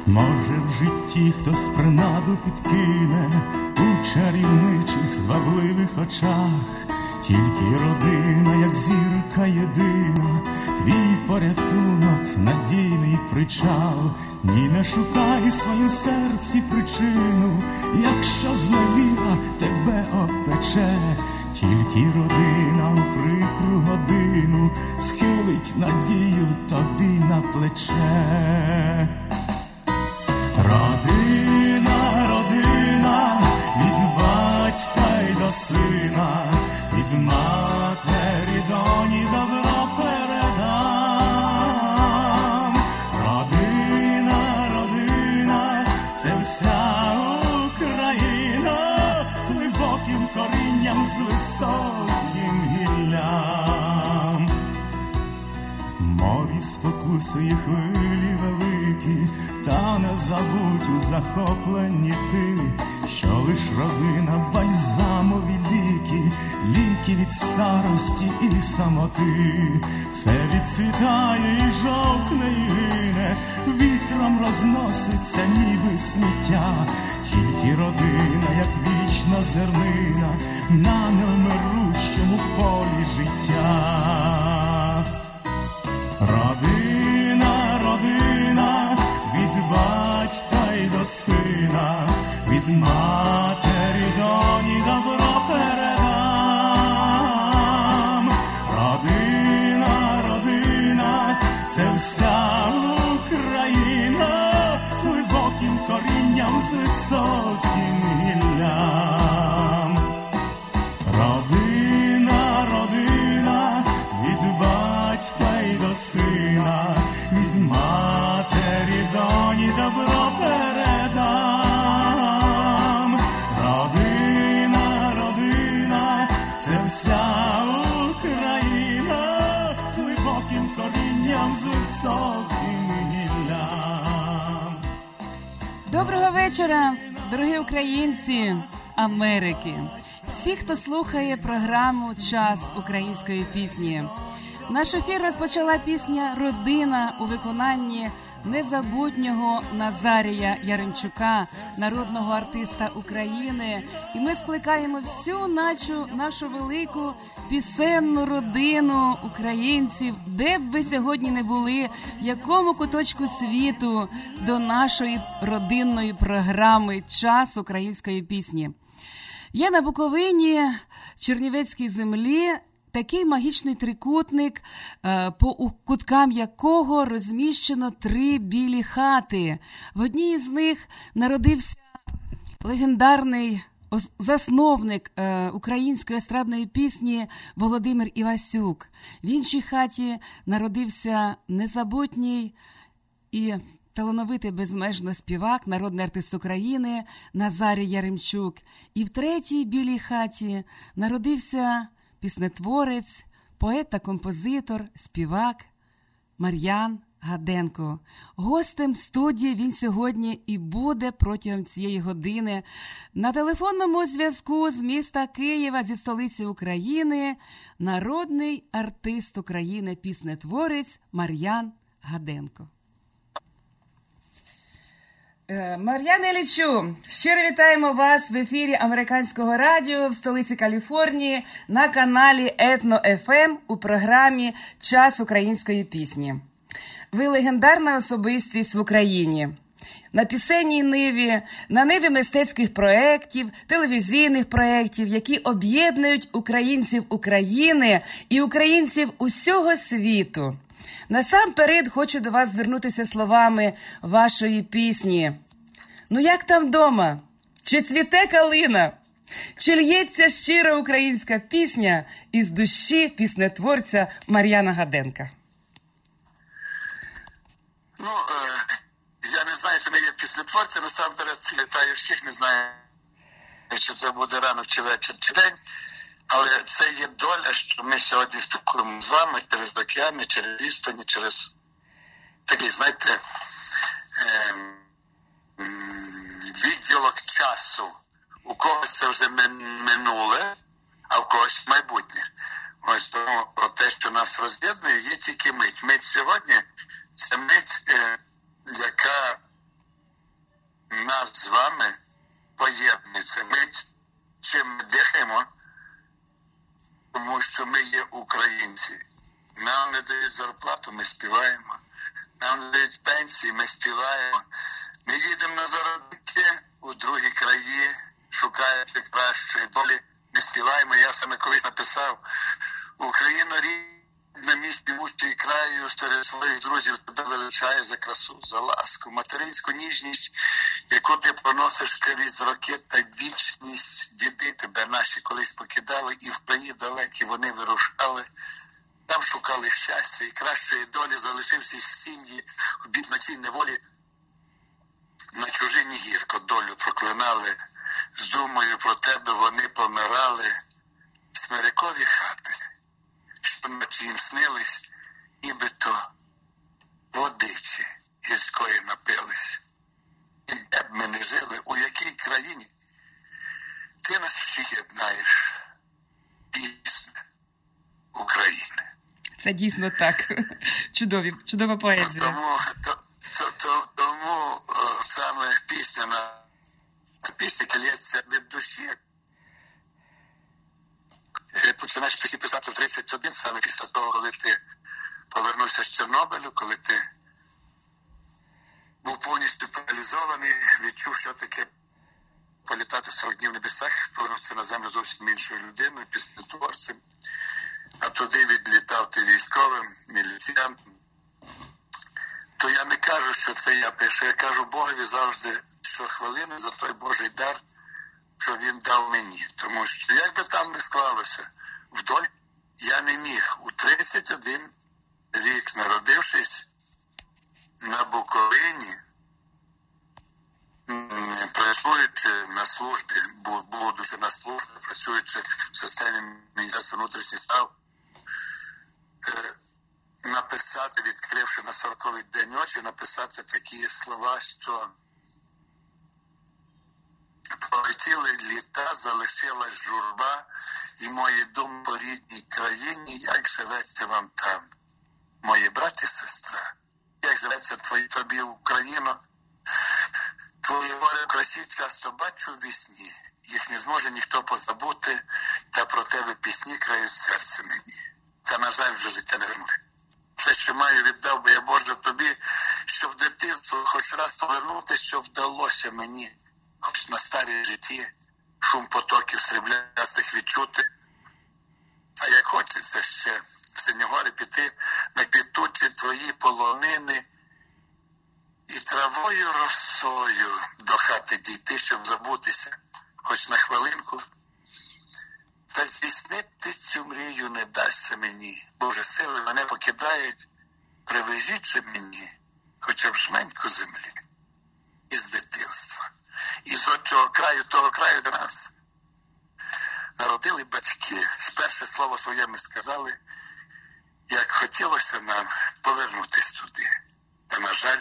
Може, в житті хтось принаду підкине у чарівничих звабливих очах, тільки родина, як зірка єдина, твій порятунок, надійний причал. Ні, не шукай свою серці причину, якщо зневіра тебе опече, тільки родина у прикру годину схилить надію тобі на плече. Родина, родина, від батька й до сина, від матері доні добро передам. Родина, родина, це вся Україна, з глибоким корінням, з високим гіллям. Морі спокусує хвилі великі, та не забудь у захопленні ти, що лиш родина бальзамові ліки, ліки від старості і самоти. Все відцвітає і жовкне і гине, вітром розноситься ніби сміття, тільки родина, як вічна зернина, на невмирущому полі життя. Родина, родина, від батька й до сина, від матері доні добро передам. Родина, родина, це вся Україна, з глибоким корінням, з високим гіллям. Родина, родина, від батька й до сина, від матері доні добро передам. Родина, родина, це вся Україна, з глибоким корінням, з високим гіллям. Доброго вечора, дорогі українці Америки. Всі, хто слухає програму «Час української пісні». Наш ефір розпочала пісня «Родина» у виконанні незабутнього Назарія Яремчука, народного артиста України. І ми скликаємо всю нашу велику пісенну родину українців, де б ви сьогодні не були, в якому куточку світу, до нашої родинної програми «Час української пісні». Є на Буковині, Чернівецькій землі, такий магічний трикутник, по куткам якого розміщено 3 білі хати. В одній з них народився легендарний засновник української естрадної пісні Володимир Івасюк. В іншій хаті народився незабутній і талановитий безмежно співак, народний артист України Назарій Яремчук. І в третій білій хаті народився піснетворець, поет та композитор, співак Мар'ян Гаденко. Гостем студії він сьогодні і буде протягом цієї години. На телефонному зв'язку з міста Києва, зі столиці України, народний артист України, піснетворець Мар'ян Гаденко. Мар'яне Іллічу, щиро вітаємо вас в ефірі Американського радіо в столиці Каліфорнії на каналі Етно ФМ у програмі «Час української пісні». Ви легендарна особистість в Україні. На пісенній ниві, на ниві мистецьких проєктів, телевізійних проєктів, які об'єднують українців України і українців усього світу. Насамперед хочу до вас звернутися словами вашої пісні. Ну як там вдома? Чи цвіте калина? Чи лється щира українська пісня із душі піснетворця Мар'яна Гаденка? Ну, я не знаю, що ми є піснетворці, насамперед вітаю всіх, не знаю, що це буде ранок, чи вечір, чи день. Але це є доля, що ми сьогодні спілкуємо з вами через океани, через відстані, через такий, знаєте, відділок часу. У когось це вже минуле, а в когось майбутнє. Ось тому те, що нас роз'єднує, є тільки мить. Мить сьогодні – це мить, яка нас з вами поєднується. Ми чим дихаємо, тому що ми є українці. Нам не дають зарплату, ми співаємо. Нам не дають пенсії, ми співаємо. Ми їдемо на заробітки у другі краї, шукаючи кращої долі, ми співаємо. Я саме колись написав: Україна рідна, мій співучий краю, серед своїх друзів тебе величаю за красу, за ласку, материнську ніжність, яку ти проносиш крізь роки, та вічність. Діди тебе наші колись покидали, і в краї далекі вони вирушали. Там шукали щастя і кращої долі, залишивши сім'ї в бідноті неволі. На чужині гірко долю проклинали, з думою про тебе вони помирали. Смирикові хати, що ночі їм снились, нібито водичі гірської напились. І де б ми не жили, у якій країні, ти нас всіх єднаєш, пісня України. Це дійсно так. Чудова поезія. Тому саме пісня калється від душі. Починаєш пісні писати в 31, саме після того, коли ти повернувся з Чорнобилю, коли ти був повністю паралізований, відчув, що таке політати 40 днів в небесах, повернувся на землю зовсім іншою людиною, піснетворцем. А туди відлітав ти військовим, міліціянтом. То я не кажу, що це я пишу. Я кажу Богові завжди щохвилини за той Божий дар, що він дав мені. Тому що, як би там не склалося, вдоль я не міг. У 31 рік, народившись на Буковині, працюючи на службі, був дуже на службі, працюючи в системі Міністерства внутрішніх справ, написати, відкривши на 40-й день очі, написати такі слова, що полетіли літа, залишилась журба, і мої думи по рідній країні, як живеться вам там, мої брати і сестра, як живеться тобі Україно, твої гори в красі часто бачу в вісні, їх не зможе ніхто позабути, та про тебе пісні крають серце мені, та, на жаль, вже життя не вернули. Все, що маю, віддав би я, Боже, тобі, щоб в дитинство хоч раз повернутися, що вдалося мені, хоч на старій житті, шум потоків сріблястих відчути. А як хочеться ще в Синьогорі піти на квітучі твої полонини і травою росою до хати дійти, щоб забутися, хоч на хвилинку. Та здійснити цю мрію не дасться мені. Боже, сили мене покидають, привезіть же мені хоча б жменьку землі із дитинства. Із отчого краю, того краю, де нас народили батьки. Перше слово своє ми сказали, як хотілося нам повернутися туди. Та, на жаль,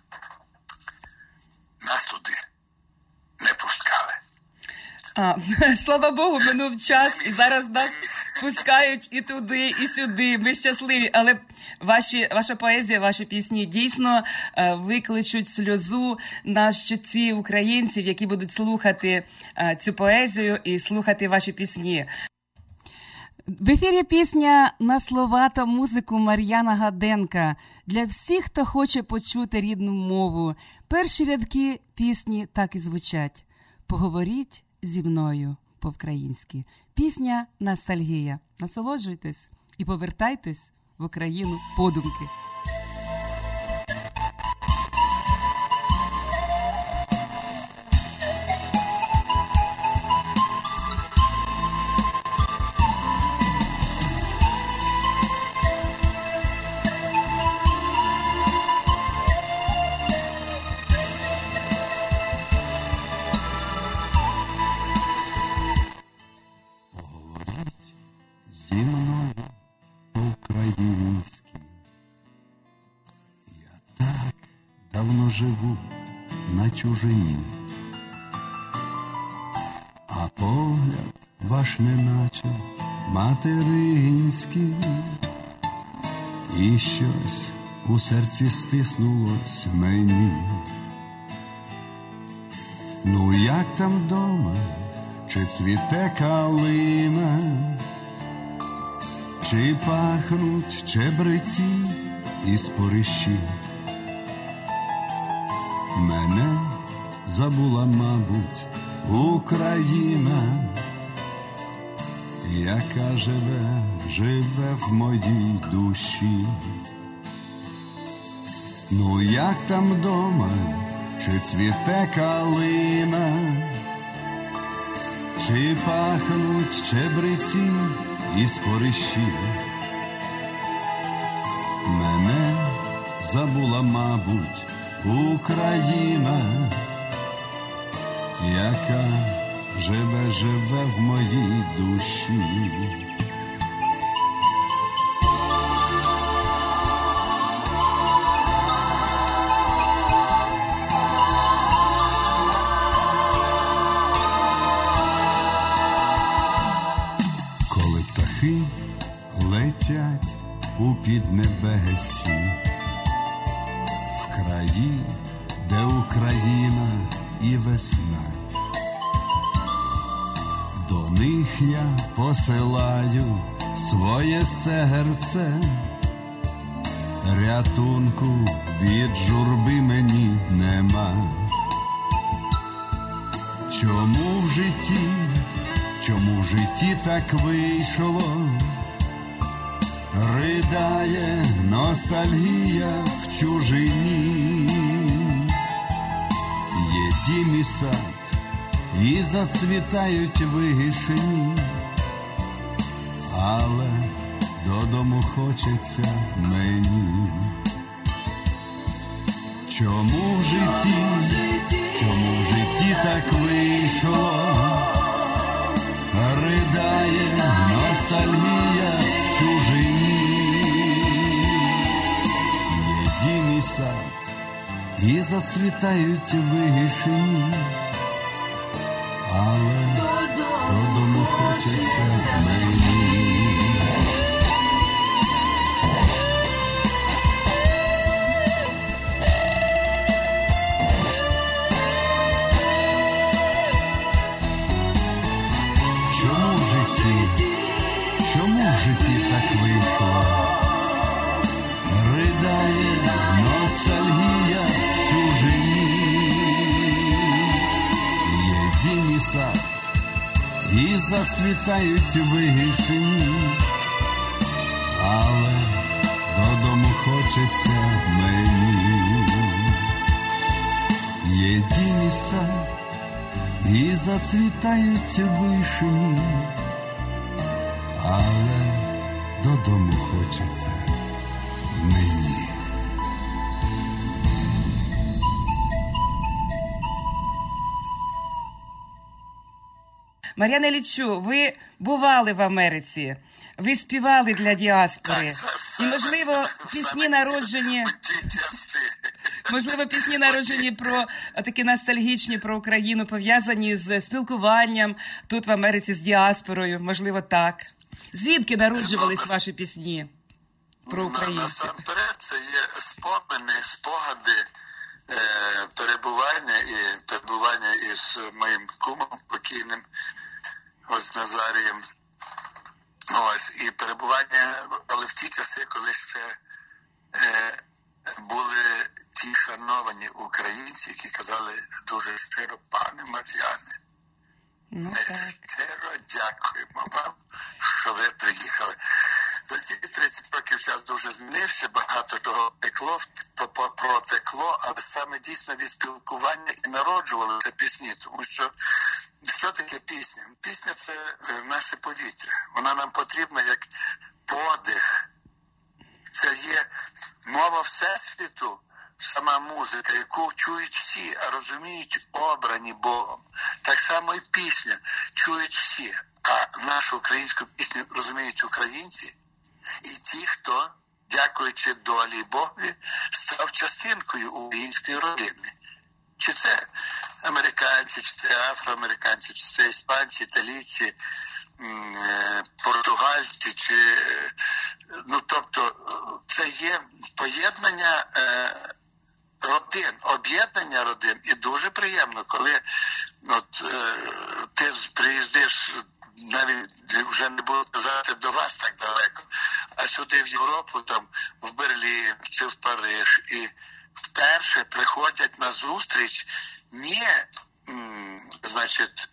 нас туди не пускали. Слава Богу, минув час, і зараз нас пускають і туди, і сюди. Ми щасливі, але ваша поезія, ваші пісні дійсно викличуть сльозу на щоці українців, які будуть слухати цю поезію і слухати ваші пісні. В ефірі пісня на слова та музику Мар'яна Гаденка. Для всіх, хто хоче почути рідну мову. Перші рядки пісні так і звучать. Поговоріть зі мною по-українськи. Пісня «Ностальгія». Насолоджуйтесь і повертайтесь в Україну подумки. Зі мною по-українськи. Я так давно живу на чужині, а погляд ваш неначе материнський, і щось у серці стиснулось мені. Ну як там дома, чи цвіте калина, чи пахнуть чебреці і спорищі? Мене забула, мабуть, Україна, яка живе в моїй душі. Ну як там дома, чи цвіте калина, чи пахнуть чебреці і спорищі? Мене забула, мабуть, Україна, яка живе в моїй душі. Коли птахи летять у піднебесі, в краї, де Україна і весна, до них я посилаю своє серце, рятунку від журби мені нема. Чому в житті так вийшло, ридає ностальгія в чужині? Є дім і сад, і зацвітають вишені, але додому хочеться мені. Чому в житті так вийшло, ридає ностальгія в чужині? Є дім і сад, і зацвітають вишені, але додому хочеться мені. Чому в житті так вийшло, ридає ностальгія в чужині? Є дім і сад, і зацвітають вишені, але додому хочеться мені. Є дім і сад, і зацвітають вишені, але додому хочеться мені. Мар'яна Іллічу, ви бували в Америці, ви співали для діаспори. І, можливо, пісні народжені про такі ностальгічні про Україну, пов'язані з спілкуванням тут в Америці з діаспорою, можливо, так. Звідки народжувались ваші пісні про Україну? Насамперед, це є спогади перебування із моїм кумом покійним, ось Назарієм. Ось, і перебування, але в ті часи, коли ще були ті шановані українці, які казали дуже щиро: пане Мар'яне, ми щиро дякуємо вам, що ви приїхали. За ці 30 років час дуже змінився, багато чого протекло, але саме дійсно від спілкування і народжувалися пісні, тому що таке пісня? Пісня – це наше повітря, вона нам потрібна як подих, це є мова Всесвіту, сама музика, яку чують всі, а розуміють обрані Богом. Так само і пісня чують всі, а нашу українську пісню розуміють українці і ті, хто, дякуючи долі Богові, став частинкою української родини. Чи це американці, чи це афроамериканці, чи це іспанці, італійці, португальці, тобто це є поєднання родин, об'єднання родин. І дуже приємно, коли ти приїздиш, навіть вже не буду казати до вас так далеко, а сюди в Європу, там в Берлін чи в Париж, і вперше приходять на зустріч не, значить,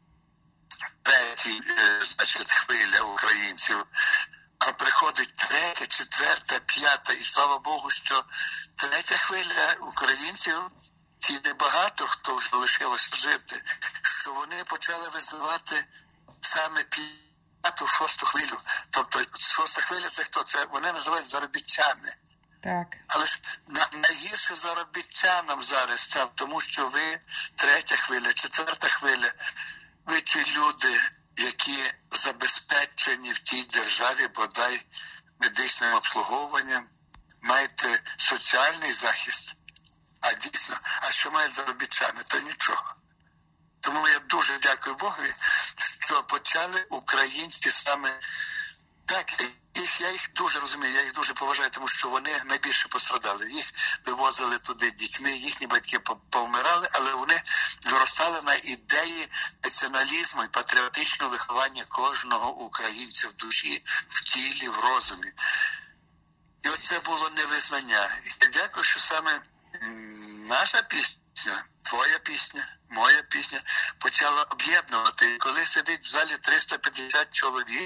хвиля українців, а приходить третя, четверта, п'ята, і слава Богу, що третя хвиля українців, ті небагато, хто вже лишилося жити, що вони почали визнавати саме п'яту, шосту хвилю. Тобто шоста хвиля – це хто? Це вони називають заробітчани. Так. Але ж найгірше заробітчанам зараз, тому що ви третя хвиля, четверта хвиля, ви ті люди, які забезпечені в тій державі, бодай медичним обслуговуванням, маєте соціальний захист. А дійсно, а що мають заробітчани? То нічого. Тому я дуже дякую Богові, що почали українці саме так. Я їх дуже розумію, я їх дуже поважаю, тому що вони найбільше пострадали. Їх вивозили туди дітьми, їхні батьки повмирали, але вони виростали на ідеї націоналізму і патріотичного виховання кожного українця в душі, в тілі, в розумі. І оце було невизнання. І я дякую, що саме наша пісня, твоя пісня, моя пісня почала об'єднувати. І коли сидить в залі 350 чоловік,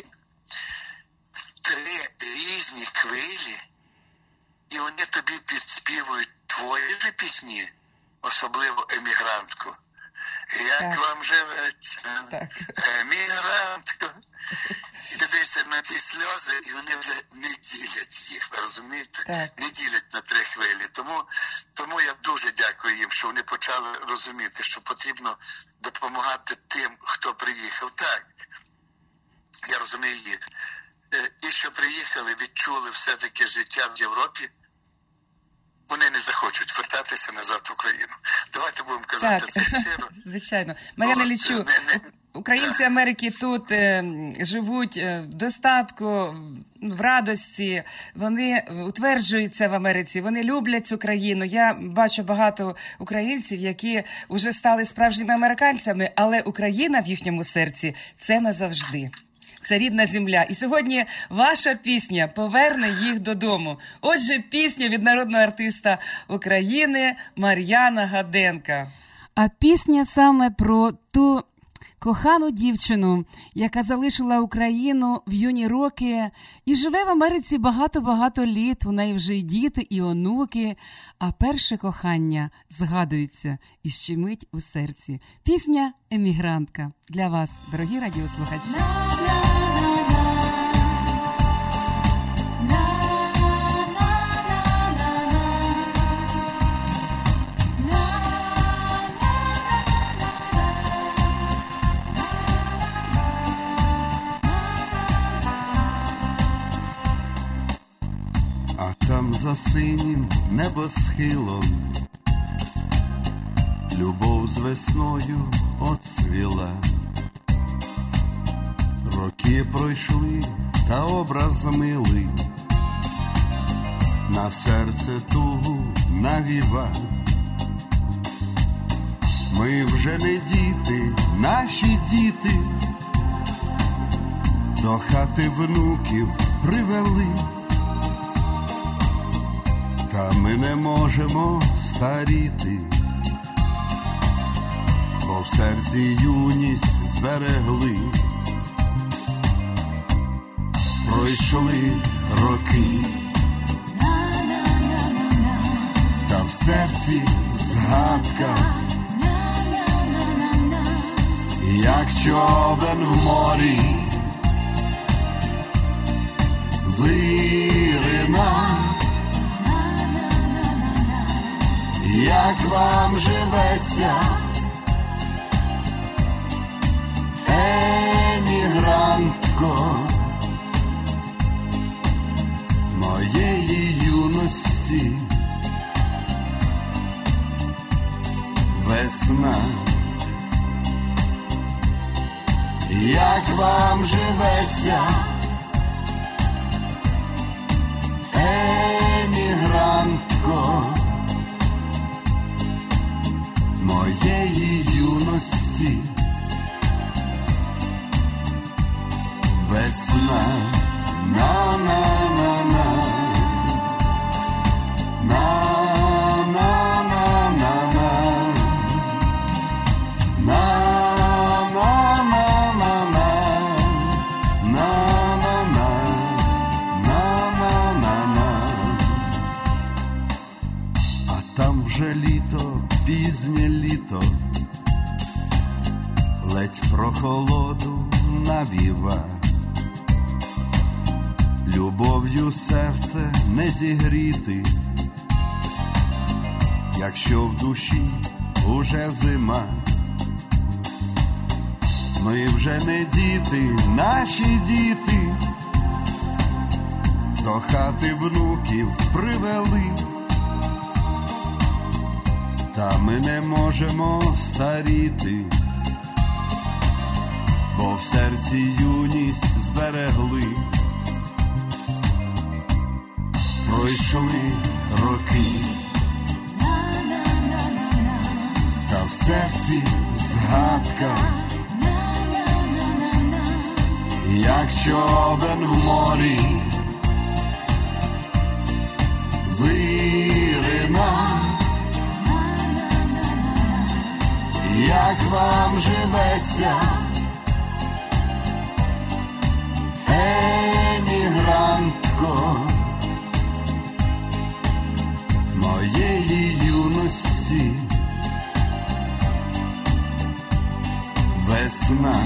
три різні хвилі, і вони тобі підспівують твої ж пісні, особливо «Емігрантку». Як так. Вам живеться, емігрантко? І ти дивишся на ті сльози, і вони вже не ділять їх, ви розумієте? Так. Не ділять на три хвилі. Тому я дуже дякую їм, що вони почали розуміти, що потрібно допомагати тим, хто приїхав. Так, я розумію їх. Ті, що приїхали, відчули все-таки життя в Європі, вони не захочуть вертатися назад в Україну. Давайте будемо казати так. це щиро. Звичайно. Мар'яна Іллічу, українці Америки тут живуть в достатку, в радості, вони утверджуються в Америці, вони люблять цю країну. Я бачу багато українців, які вже стали справжніми американцями, але Україна в їхньому серці – це назавжди. Це рідна земля. І сьогодні ваша пісня поверне їх додому. Отже, пісня від народного артиста України Мар'яна Гаденка. А пісня саме про ту кохану дівчину, яка залишила Україну в юні роки і живе в Америці багато-багато літ. У неї вже й діти, і онуки. А перше кохання згадується і щемить у серці. Пісня «Емігрантка» для вас, дорогі радіослухачі. А там за синім небосхилом любов з весною оцвіла. Роки пройшли, та образ милий на серце тугу навіва. Ми вже не діти, наші діти до хати внуків привели. Та ми не можемо старіти, бо в серці юність зберегли. Пройшли роки, та в серці згадка, як човен в морі вирина. Як вам живеться, емігрантко, моєї юності весна? Як вам живеться, емігрантко, моєї юності вже літо, пізнє літо, ледь прохолоду навіва, любов'ю серце не зігріти, якщо в душі уже зима. Ми вже не діти, наші діти до хати внуків привели, та ми не можемо старіти, бо в серці юність зберегли. Пройшли роки, та в серці згадка, як човен в морі вирина. Як вам живеться, емігрантко моєї юності? Весна.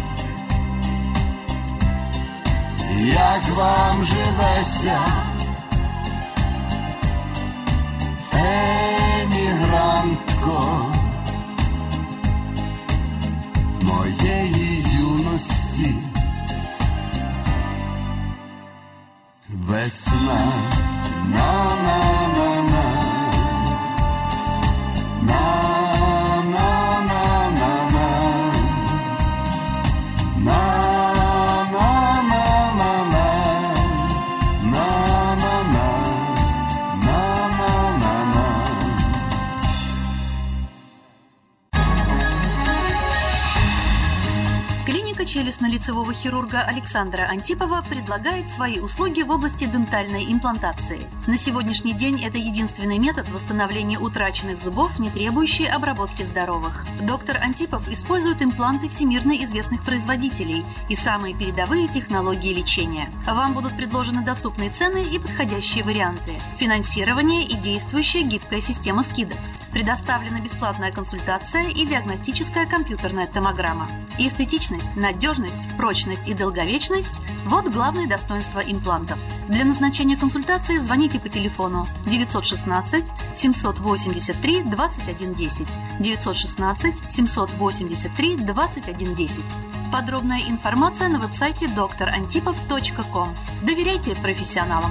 Як вам живеться, емігрантко моєї юності? Весна. На-на-на-на, на-на-на-на-на, Клиника челюстно-лицевого хирурга Александра Антипова предлагает свои услуги в области дентальной имплантации. На сегодняшний день это единственный метод восстановления утраченных зубов, не требующий обработки здоровых. Доктор Антипов использует импланты всемирно известных производителей и самые передовые технологии лечения. Вам будут предложены доступные цены и подходящие варианты. Финансирование и действующая гибкая система скидок. Предоставлена бесплатная консультация и диагностическая компьютерная томограмма. Эстетичность, надежность, прочность и долговечность – вот главные достоинства имплантов. Для назначения консультации звоните по телефону 916 783 2110, 916 783 2110. Подробная информация на веб-сайте drantipov.com. Доверяйте профессионалам.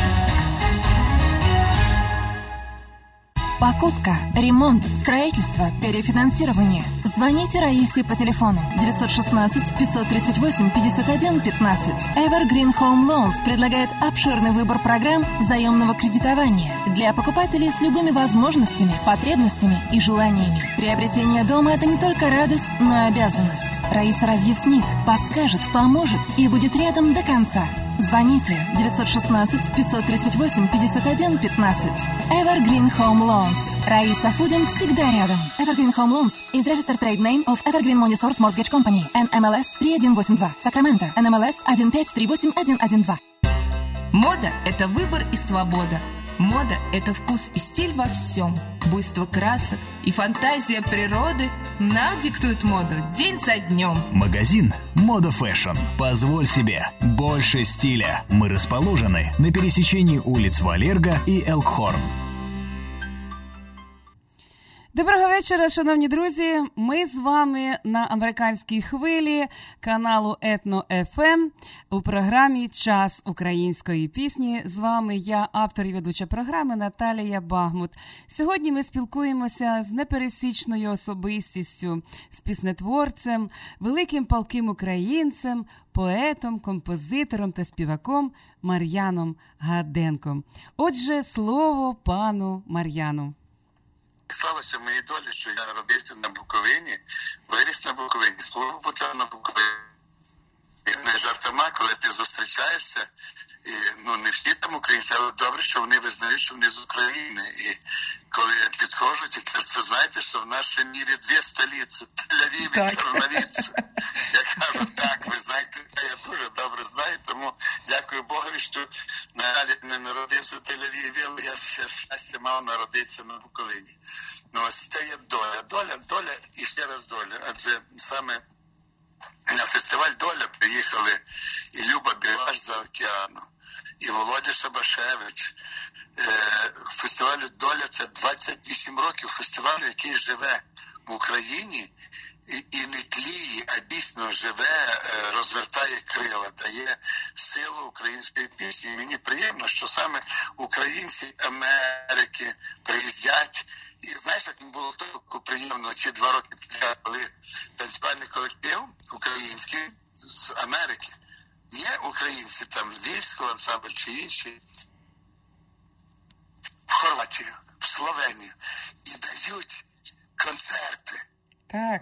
Покупка, ремонт, строительство, перефинансирование. Звоните Раисе по телефону 916 538 51 15. Evergreen Home Loans предлагает обширный выбор программ заемного кредитования для покупателей с любыми возможностями, потребностями и желаниями. Приобретение дома – это не только радость, но и обязанность. Раиса разъяснит, подскажет, поможет и будет рядом до конца. Звоните 916 538 51 15. Evergreen Home Loans. Раиса Фудин всегда рядом. Evergreen Home Loans is registered trade name of Evergreen Money Source Mortgage Company. NMLS 3182. Sacramento. NMLS 1538112. Мода – это выбор и свобода. Мода – это вкус и стиль во всем. Буйство красок и фантазия природы нам диктуют моду день за днем. Магазин «Мода Фэшн». Позволь себе больше стиля. Мы расположены на пересечении улиц Валерго и Элкхорн. Доброго вечора, шановні друзі. Ми з вами на американській хвилі каналу Етно ФМ у програмі «Час української пісні». З вами я, автор і ведуча програми Наталія Багмут. Сьогодні ми спілкуємося з непересічною особистістю, з піснетворцем, великим палким українцем, поетом, композитором та співаком Мар'яном Гаденком. Отже, слово пану Мар'яну. Славася моїй долі, що я народився на Буковині, виріс на Буковині, службу почав на Буковині. Не жартома, коли ти зустрічаєшся, і не всі там українці, але добре, що вони визнають, що вони з України. І коли я підходжу, і кажуть, ви знаєте, що в нашій мірі дві столиці, Тель-Авів і Чорновіць. Я кажу, так, ви знаєте, я дуже добре знаю. знаю, тому дякую Богові, що наразі не народився в Тель-Авіві, але я ще щастя мав народитися на Буковині. Ну, ось це є доля і ще раз доля. Адже саме на фестиваль «Доля» приїхали і Люба Білаш з океану, і Володя Шабашевич. Фестивалю «Доля» – це 28 років фестивалю, який живе в Україні і не тліє, а дійсно живе, розвертає крила, дає силу української пісні. І мені приємно, що саме українці Америки приїздять. І знаєш, як мені було так приємно ці 2 роки підряд, коли танцювальний колектив український з Америки, є українці, там Львівського ансамбль чи інші, в Хорватію, в Словенію, і дають концерти. Так.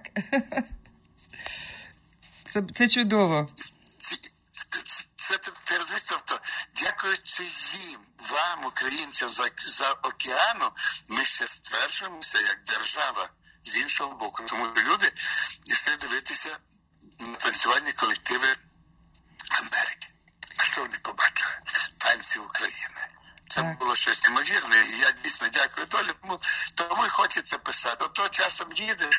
Це чудово. Це ти розумієш, тобто, дякуючи їм, вам, українцям, за океану, ми ще стверджуємося як держава з іншого боку. Тому люди йшли дивитися на танцювальні колективи Америки. А що вони побачили? Танці України. Це було щось неймовірне, і я дійсно дякую долі, тому і хочеться писати. От часом їдеш,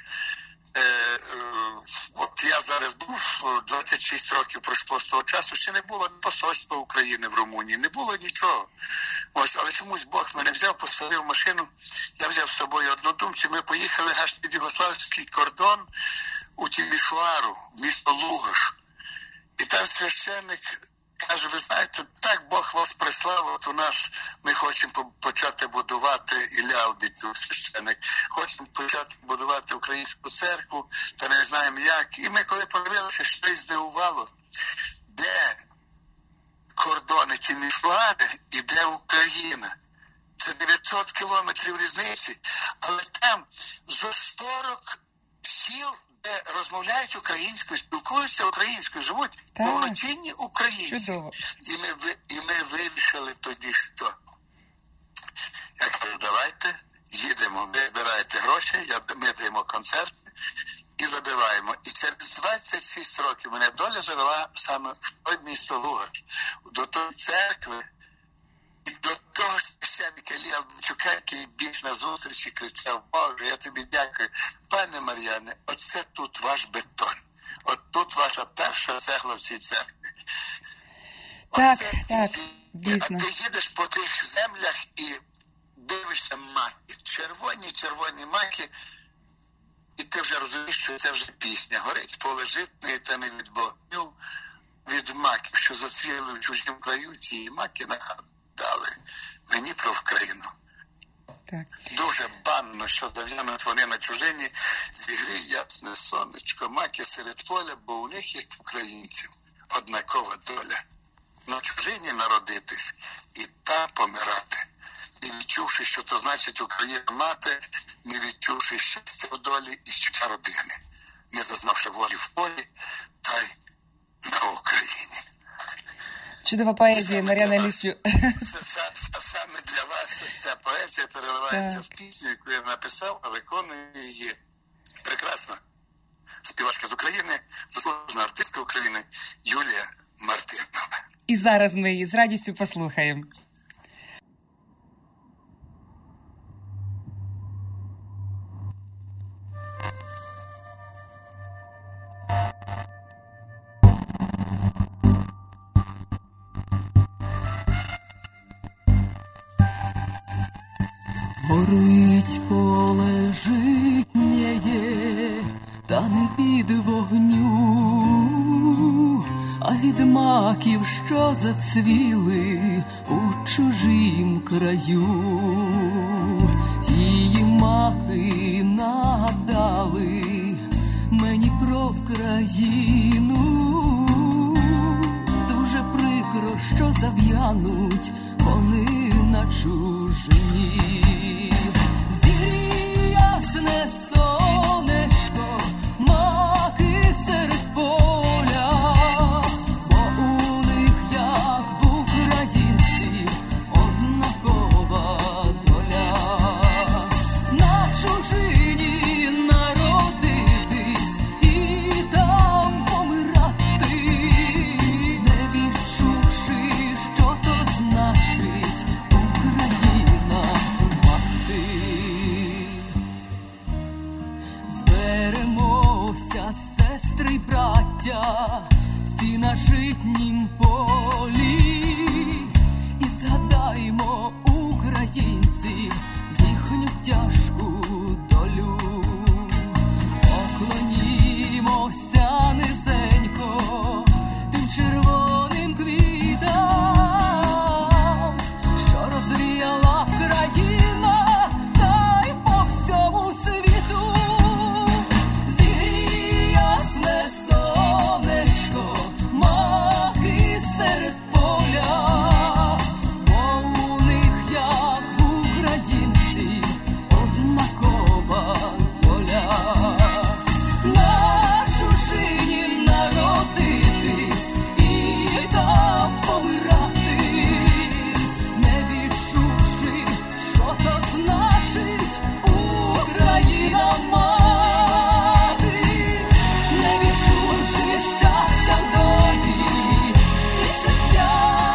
от я зараз був, 26 років пройшло з того часу, ще не було посольства України в Румунії, не було нічого. Ось, але чомусь Бог мене взяв, посадив машину, я взяв з собою однодумців, ми поїхали аж під Югославський кордон у Тімішоару, місто Лугаш. І там священник каже, ви знаєте, так Бог вас прислав, от у нас ми хочемо почати будувати, Ілля Албітюк, священник, хочемо почати будувати українську церкву, та не знаємо як. І ми коли подивилися, щось здивувало, де кордони Тімішоари і де Україна. Це 900 кілометрів різниці, але там за 40 сіл, де розмовляють українською, спілкуються українською, живуть повноцінні українці. І ми вирішили тоді, що я кажу, давайте їдемо, ви збираєте гроші, ми даємо концерти і забиваємо. І через 26 років мене доля завела саме в той місто Лугач, до тої церкви, і до того священника Іллі Албітюка, який біг на зустрічі, кричав, Боже, я тобі дякую. Пане Мар'яне, оце тут ваш бетон. От тут ваша перша цегла в цій церкві. Так, дійсно. А ти їдеш по тих землях і дивишся маки. Червоні маки. І ти вже розумієш, що це вже пісня. Горить поле житне, та не від вогню, від маків, що зацвіли в чужім краю, ці маки нагадали мені про Вкраїну. Так. Дуже банно, що здав'януть вони на чужині, зігрій ясне сонечко, маки серед поля, бо у них, як українців, однакова доля. На чужині народитись і там помирати. Не відчувши, що то значить Україна мати, не відчувши щастя в долі і щастя родини, не зазнавши волі в полі, та й на Україні. Чудова поезія, Мар'яна Іллічу. Саме для вас ця поезія переливається в пісню, яку я написав, а виконує її прекрасна співачка з України, заслужена артистка України Юлія Мартинова. І зараз ми її з радістю послухаємо. Горить поле житнє, та не від вогню, а від маків, що зацвіли у чужім краю. Ті маки нагадали мені про Вкраїну. Дуже прикро, що зав'януть вони на чужині. Ясне сонечко, маки серед поля, бо у них, як в українців, однакова доля. На чужині народитись і там помирати, не від українців, їхню тяжку долю. Поклонімося низенько тим червоним квітам, що розвіяла Вкраїна, та й по всьому світу. Зігріє ясне сонечко, маки серед поля, бо у них, як в українців, однакова доля. На чужині народитись і там помирати, не відчувши, що то значить Україна мати, не відчувши щастя в долі і життя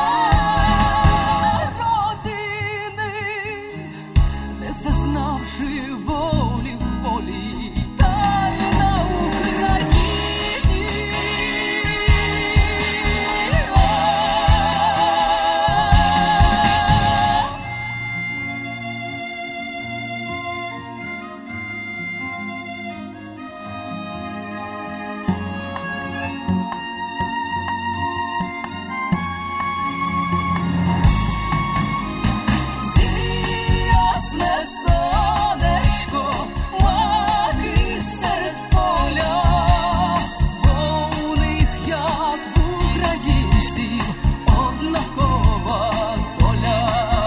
родини, не зазнавши волі в полі, та й на Україні. Зігріє ясне сонечко, маки серед поля, бо у них, як в українців, однакова доля.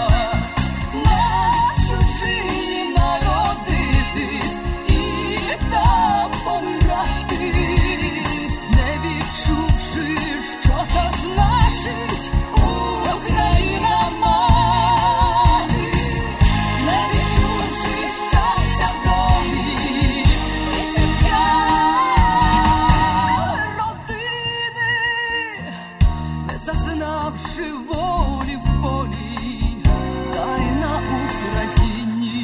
На чужині народитись і там помирати, не відчувши, що то значить Україна мати, не відчувши щастя в долі і життя родини, не зазнавши волі в полі, та й на Україні.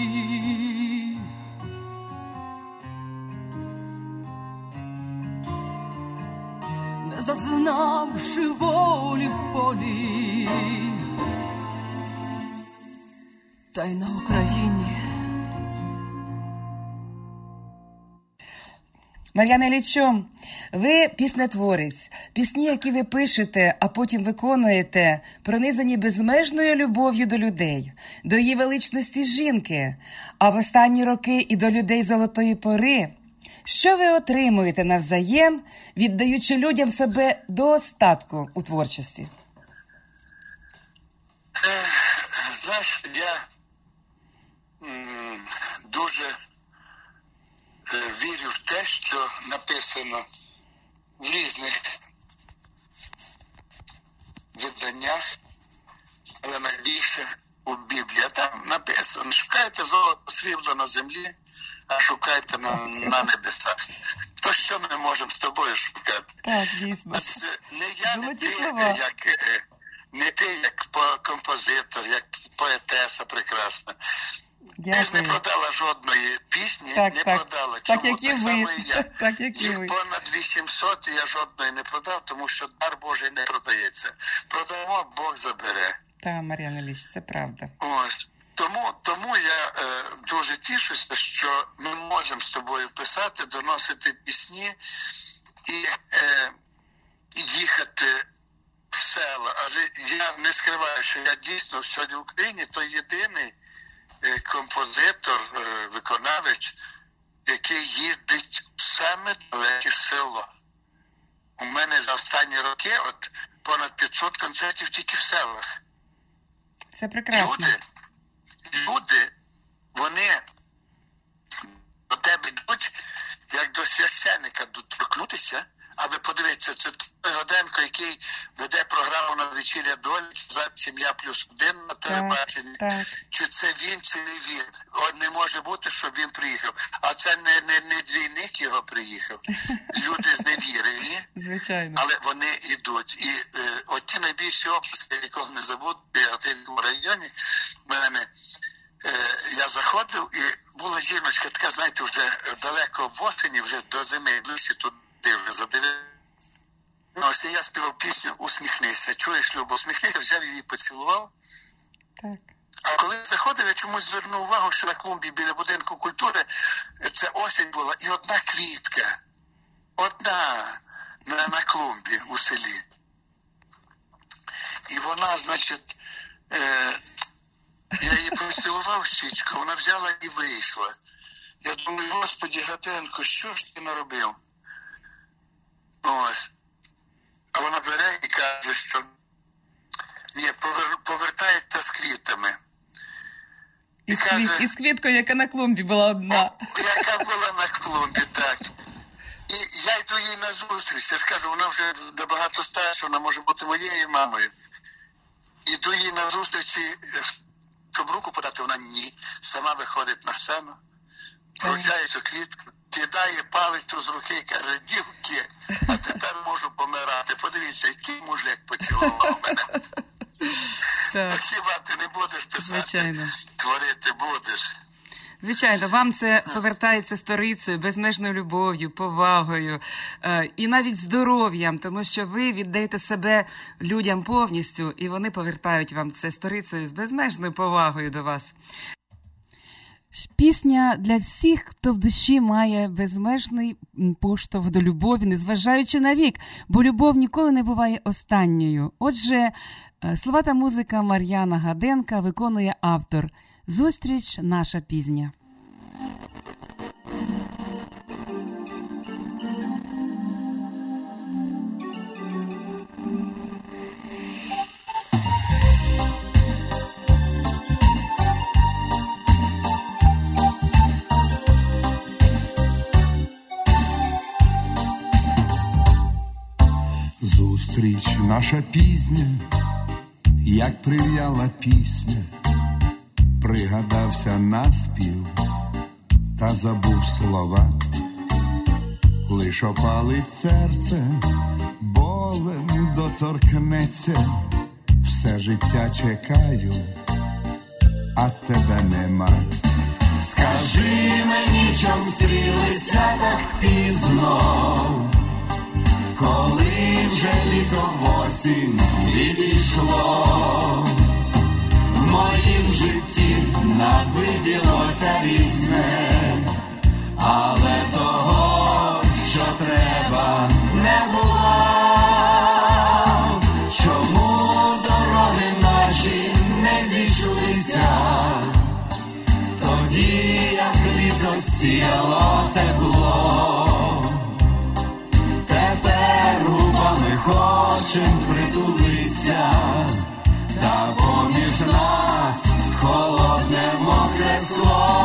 Не зазнавши волі в полі, та й на Україні. Мар'яна Іллічу, ви піснетворець. Пісні, які ви пишете, а потім виконуєте, пронизані безмежною любов'ю до людей, до її величності жінки, а в останні роки і до людей золотої пори. Що ви отримуєте навзаєм, віддаючи людям себе до остатку у творчості? Знаєш, я дуже вірю в те, що написано в різних виданнях, але найбільше у Біблії. Там написано: шукайте золото, срібло на землі, а шукайте на небесах. То що ми можемо з тобою шукати? Так, дійсно. Не ти як композитор, як поетеса прекрасна. Дякую. Ти ж не продала жодної пісні, Так, не так. продала. Так, Чому? як і ви. Само і я. Так, як і Їх ви. понад 800, і я жодної не продав, тому що дар Божий не продається. Продамо, Бог забере. Так, Мар'яна Ілліч, це правда. Ось. Тому я дуже тішуся, що ми можемо з тобою писати, доносити пісні і їхати в села. Адже я не скриваю, що я дійсно сьогодні в Україні той єдиний композитор, виконавець, який їздить в саме далеке село. У мене за останні роки понад 500 концертів тільки в селах. Це прекрасно. Люди, вони до тебе йдуть, як до священника, доторкнутися, аби подивитися, це той Годенко, який веде програму «На вечіря долі», за «Сім'я плюс один» на телебаченні. Чи це він, чи не він. Не може бути, щоб він приїхав. А це не двійник його приїхав. Люди зневірені. Звичайно. Але вони йдуть. І от ті найбільші області, якого не забуду, в Яготинському районі, в мене я заходив, і була жіночка така, знаєте, вже далеко в осені, вже до зими, ближче туди, вже за 9. Ось я співав пісню «Усміхнися». Чуєш, Любо, усміхнися, взяв її, поцілував. Так. А А коли заходив, я чомусь звернув увагу, що на клумбі біля будинку культури це осінь була, і одна квітка. Одна на клумбі у селі. І вона, значить, я її поцілував щічку, вона взяла і вийшла. Я думаю, Господи, Гатенко, що ж ти наробив? Ось. А вона бере і каже, що ні, повертається з квітами. І з квіткою, яка на клумбі була одна. Яка була на клумбі, так. І я йду їй на зустріч. Я ж кажу, вона вже набагато старша, вона може бути моєю мамою. Іду їй на зустріч, щоб руку подати, вона ні. Сама виходить на сцену, вручає цю квітку, кидає палицю з руки і каже, дівки, а тепер можу помирати. Подивіться, який мужик поцілував мене. Так. Хіба ти не будеш писати, звичайно. Творити будеш. Звичайно, вам це повертається сторицею, безмежною любов'ю, повагою і навіть здоров'ям, тому що ви віддаєте себе людям повністю, і вони повертають вам це сторицею з безмежною повагою до вас. Пісня для всіх, хто в душі має безмежний поштовх до любові, незважаючи на вік, бо любов ніколи не буває останньою. Отже, слова та музика Мар'яна Гаденка виконує автор. Зустріч наша пізня. Зустріч наша пізня, як прив'яла пісня, пригадався наспів та забув слова. Лиш опалить серце, болем доторкнеться, все життя чекаю, а тебе нема. Скажи мені, чом стрілися так пізно, коли вже літо в осінь відійшло. В моїм житті навиділося різне, але того, що треба, не було. Чому дороги наші не зійшлися, тоді, як літо сіяло тепло? Тепер губами хочем притулиться, та поміж нас холодне мокре скло.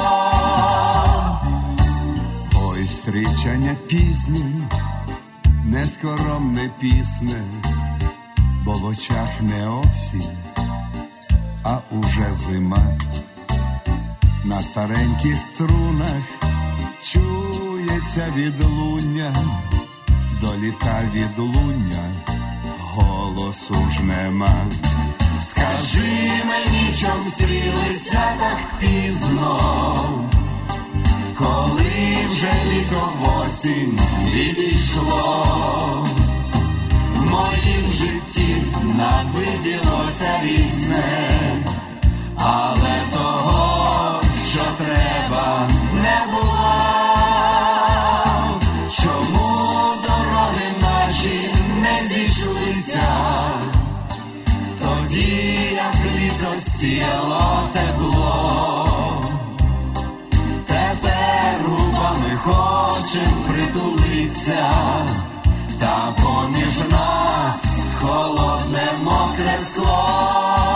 Ой, стрічання пісні, нескоромне пісне, бо в очах не осінь, а уже зима. На стареньких струнах чується відлуння, до літа відлуння голосу ж нема. Скажи мені, чом стрілися так пізно, коли вже літо в осінь відійшло. В моїм житті навиділося різне, але того, що треба, не було. Чому дороги наші не зійшлися, тоді, як літо сіяло тепло? Тепер губами хочем притулиться, та поміж нас холодне мокре скло.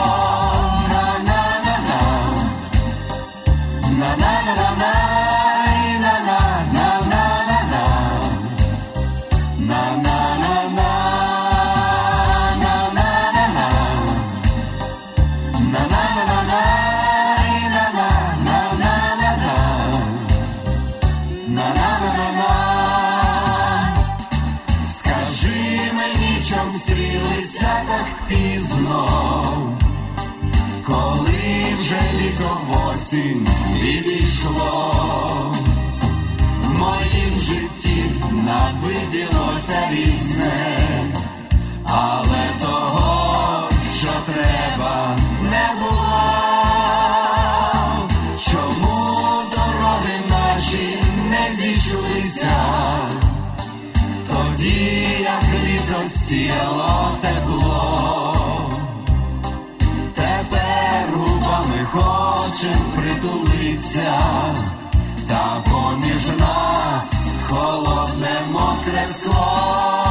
На-на-на-на, на-на-на-на, коли вже літо в осінь відійшло. В моїм житті навиділося різне, але того, що треба, не було. чим притулиться, та поміж нас холодне мокре скло.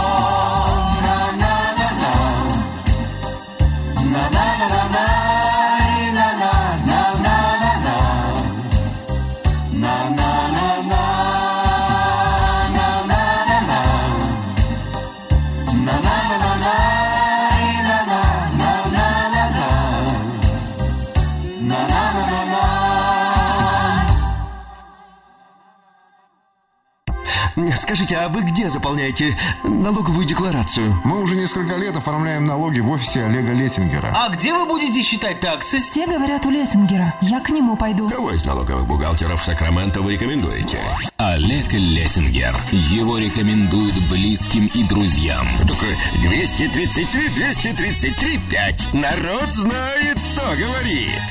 Скажите, а вы где заполняете налоговую декларацию? Мы уже несколько лет оформляем налоги в офисе Олега Лессингера. А где вы будете считать таксы? Все говорят у Лессингера. Я к нему пойду. Кого из налоговых бухгалтеров Сакраменто вы рекомендуете? Олег Лессингер. Его рекомендуют близким и друзьям. Только 233-5. Народ знает, что говорит.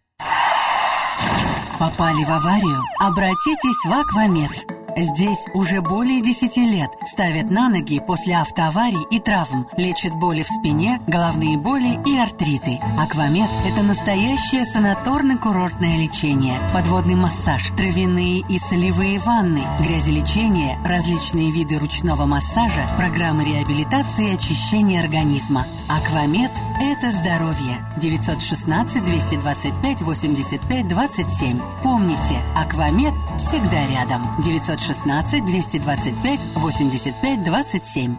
Попали в аварию? Обратитесь в Аквамед. Здесь уже более 10 лет ставят на ноги после автоаварий и травм, лечат боли в спине, головные боли и артриты. Аквамед – это настоящее санаторно-курортное лечение, подводный массаж, травяные и солевые ванны, грязелечение, различные виды ручного массажа, программы реабилитации и очищения организма. Аквамед – это здоровье. 916-225-85-27. Помните, Аквамед всегда рядом. 916-225-85-27.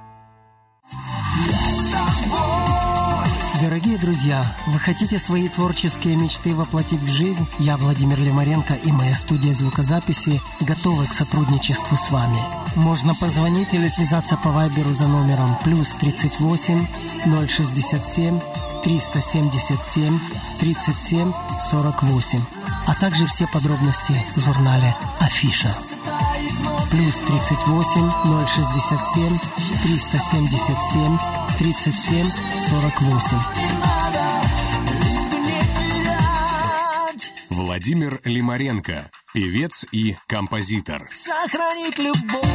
Дорогие друзья, вы хотите свои творческие мечты воплотить в жизнь? Я, Владимир Лимаренко, и моя студия звукозаписи готовы к сотрудничеству с вами. Можно позвонить или связаться по вайберу за номером +38 067 377 37 48, а также все подробности в журнале «Афиша». +38 067 377 37 48. Владимир Лимаренко, певец и композитор. Сохранить любовь.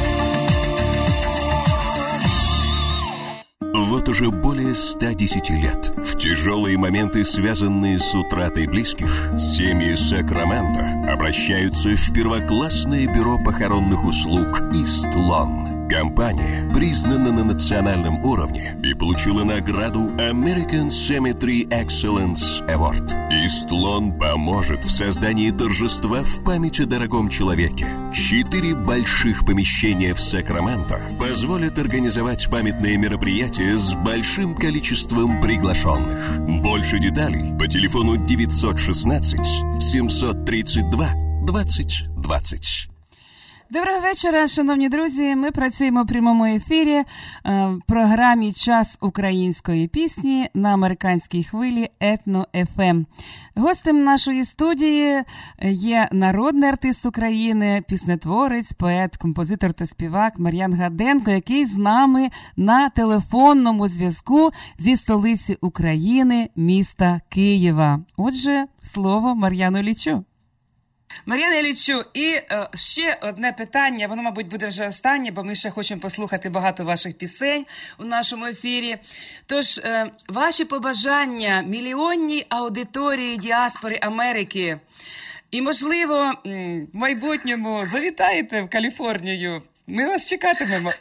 Вот уже более 110 лет, в тяжелые моменты, связанные с утратой близких, семьи Сакраменто обращаются в первоклассное бюро похоронных услуг «Истлон». Компания признана на национальном уровне и получила награду American Cemetery Excellence Award. Истлон поможет в создании торжества в память о дорогом человеке. 4 больших помещения в Сакраменто позволят организовать памятные мероприятия с большим количеством приглашенных. Больше деталей по телефону 916 732 20 20. Доброго вечора, шановні друзі. Ми працюємо в прямому ефірі в програмі «Час української пісні» на американській хвилі Етно-ФМ. Гостем нашої студії є народний артист України, піснетворець, поет, композитор та співак Мар'ян Гаденко, який з нами на телефонному зв'язку зі столиці України, міста Києва. Отже, слово Мар'яну Іллічу. Мар'яна Іллічу, і ще одне питання, воно, мабуть, буде вже останнє, бо ми ще хочемо послухати багато ваших пісень у нашому ефірі. Тож, ваші побажання мільйонній аудиторії діаспори Америки і, можливо, в майбутньому завітаєте в Каліфорнію. Ми вас чекатимемо.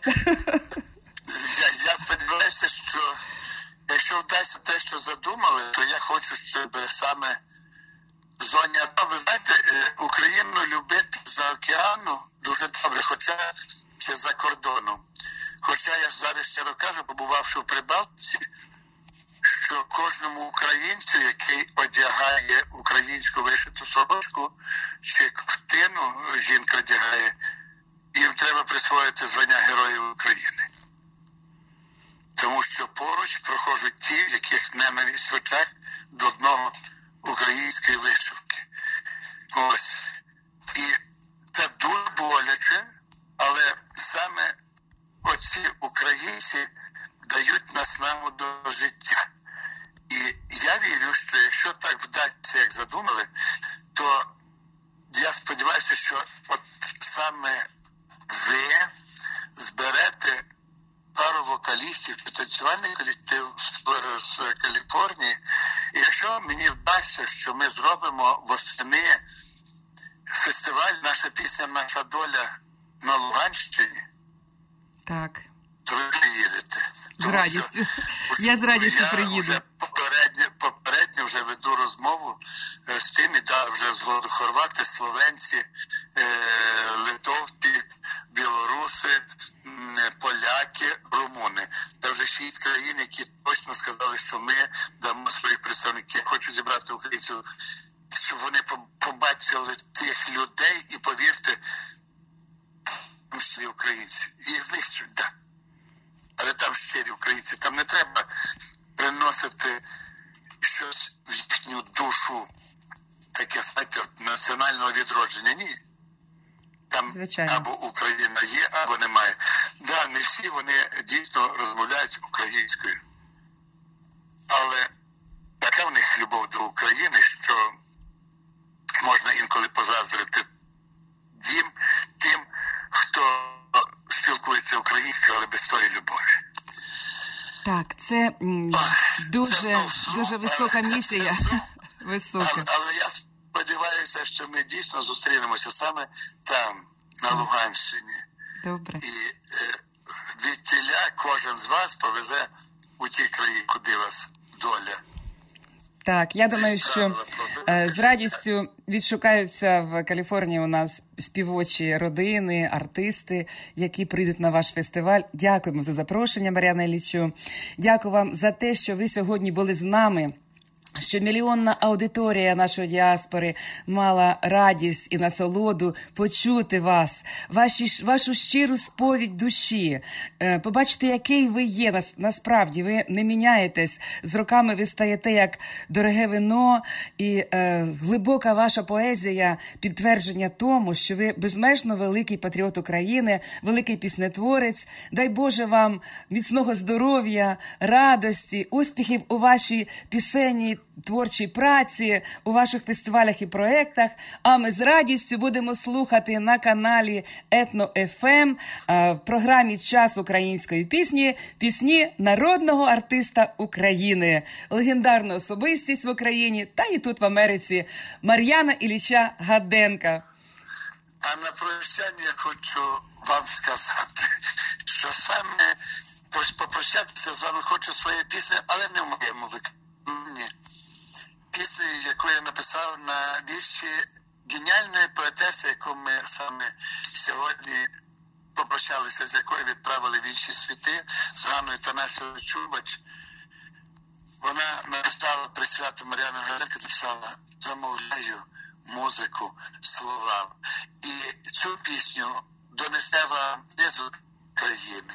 Я сподіваюся, що якщо вдасться те, що задумали, то я хочу, щоб саме в зоні АТО, ви знаєте, Україну любити за океану дуже добре, хоча чи за кордоном. Хоча я зараз щиро кажу, побувавши в Прибалтиці, що кожному українцю, який одягає українську вишиту сорочку чи ковтину, жінка одягає, їм треба присвоїти звання Героїв України. Тому що поруч проходять ті, в яких ненависть в очах до одного української вишивки. Ось. І це дуже боляче, але саме оці українці дають наснагу до життя. І я вірю, що якщо так вдасться, як задумали, то я сподіваюся, що от саме ви зберете пару вокалістів, танцювальний колектив з Каліфорнії, І якщо мені вдасться, що ми зробимо восени фестиваль «Наша пісня, наша доля» на Луганщині, так, то ви приїдете. З радістю. Я з радістю приїду. Я попередньо вже веду розмову з тим, і вже згоду хорвати, словенці, литовці, білоруси, поляки, румуни. Це вже 6 країн, які точно сказали, що ми дамо своїх представників. Я хочу зібрати українців, щоб вони побачили тих людей і, повірте, щирі українці. Їх знищують, так. Але там щирі українці. Там не треба приносити щось в їхню душу, таке, знаєте, національного відродження. Ні. Там звичайно. Або Україна є, або немає. Да, не всі вони дійсно розмовляють українською. Але така в них любов до України, що можна інколи позаздрити тим, хто спілкується українською, але без тої любові. Так, це дуже висока місія. Висока. Але я сподіваюся, що ми дійсно зустрінемося саме там, на Луганщині. Добре. І відтіля кожен з вас повезе у ті краї, куди вас доля. Так, я думаю, що з радістю відшукаються в Каліфорнії у нас співочі родини, артисти, які прийдуть на ваш фестиваль. Дякуємо за запрошення, Мар'яна Іллічу. Дякую вам за те, що ви сьогодні були з нами, що мільйонна аудиторія нашої діаспори мала радість і насолоду почути вас, вашу щиру сповідь душі, побачити, який ви є. Насправді, ви не міняєтесь. З роками ви стаєте як дороге вино, і глибока ваша поезія – підтвердження тому, що ви безмежно великий патріот України, великий піснетворець. Дай Боже вам міцного здоров'я, радості, успіхів у вашій пісенній творчій праці, у ваших фестивалях і проєктах. А ми з радістю будемо слухати на каналі Етно-ФМ в програмі «Час української пісні» народного артиста України, легендарну особистість в Україні та і тут в Америці Мар'яна Ілліча Гаденка. А на прощання я хочу вам сказати, що саме попрощатися з вами хочу своєю піснею, але не в моєму виконанні. Пісню, яку я написав на вірші геніальної поетеси, яку ми саме сьогодні попрощалися, з якою відправили в інші світи, з Ганною Танасівною Чубач. Вона написала при свято Мар'яна Гаденка, написала «Замовляю музику словам». І цю пісню донесе вам не з України,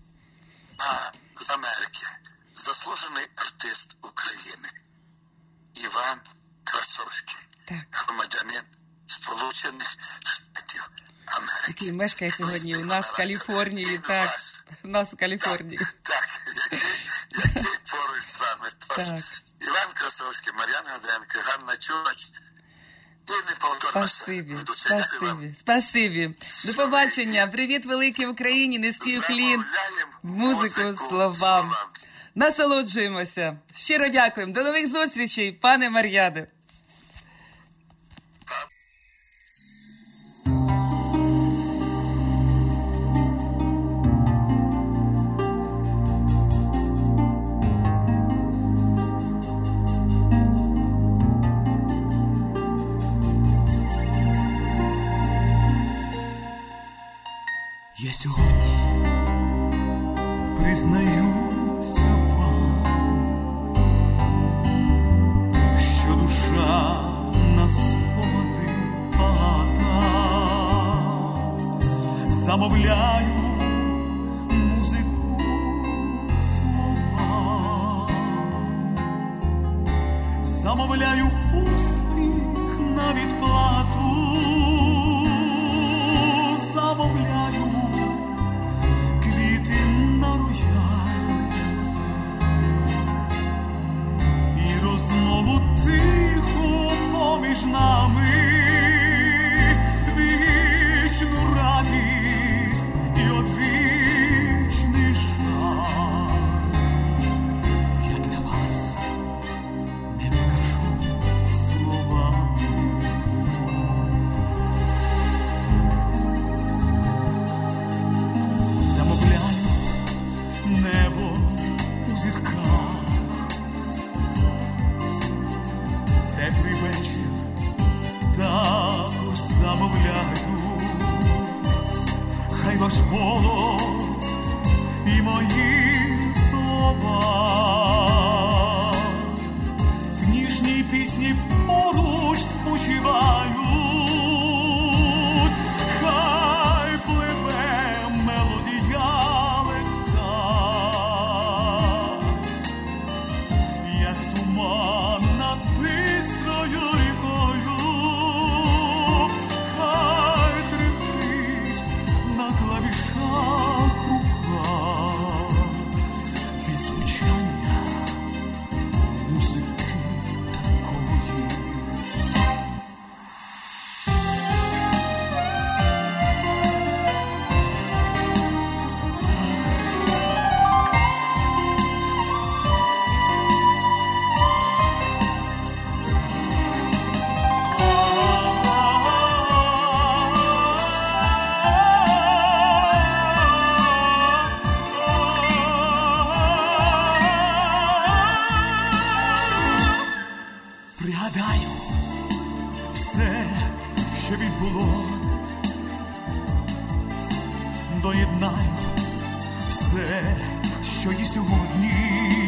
а з Америки. Заслужений артист України Іван Красовський, громадянин Сполучених Штатів Америки. Який мешкає сьогодні у нас в Каліфорнії, так, у нас в Каліфорнії. Так, який поруч з вами. Тож, Іван Красовський, Мар'яна Гаденко, Ганна Чубач і неповторна Спасибі. Спасибі. До побачення. Привіт великій Україні, низький уклін, музику словам. Насолоджуємося. Щиро дякуємо. До нових зустрічей, пане Мар'яне. Я сьогодні признаюся вам, що душа на спогади багата. Замовляю музику слова, замовляю успіх на відплату, замовляю квіти на рояль і розмову тиху поміж нами, вічну радість і ваш голос і мої слова. В ніжній пісні поруч спочивають. Хай пливе мелодія легка, як туман над бистрою рікою. Хай тремтить на клавішах рука від звучання музики такої. Пригадаю все, що відбуло, доєднаю все, що є сьогодні.